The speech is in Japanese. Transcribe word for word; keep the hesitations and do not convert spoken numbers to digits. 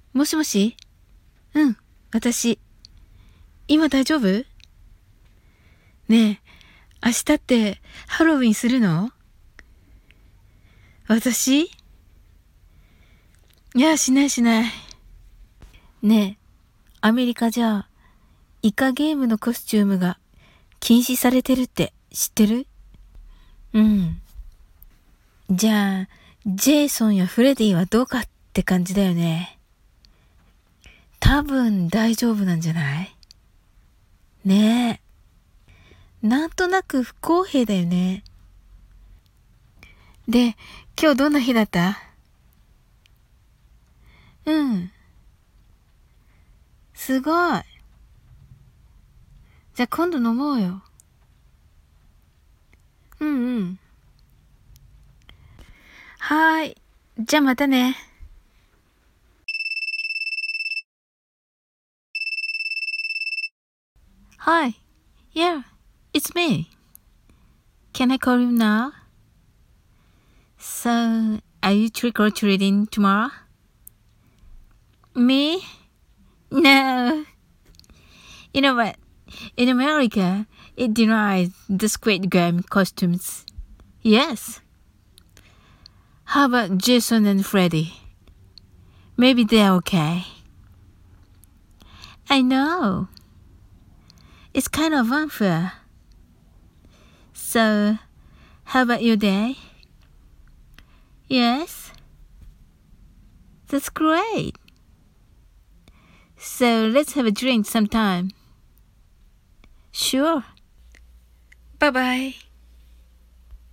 もしもし？うん、私。今大丈夫？ねえ、明日ってハロウィンするの？私？いや、しないしない。ねえ、アメリカじゃ、イカゲームのコスチュームが禁止されてるって知ってる？うん。じゃあ、ジェイソンやフレディはどうかって感じだよね。多分大丈夫なんじゃない？ねえ。なんとなく不公平だよね。で、今日どんな日だった？うん。すごい。じゃあ今度飲もうよ。うんうん。はーい。じゃあまたね。Hi. Yeah, it's me. Can I call you now? So, are you trick or treating tomorrow? Me? No. You know what? In America, it denies the Squid Game costumes. Yes. How about Jason and Freddy? Maybe they're okay. I know. It's kind of unfair. So, how about your day? Yes? That's great. So, let's have a drink sometime. Sure. Bye bye.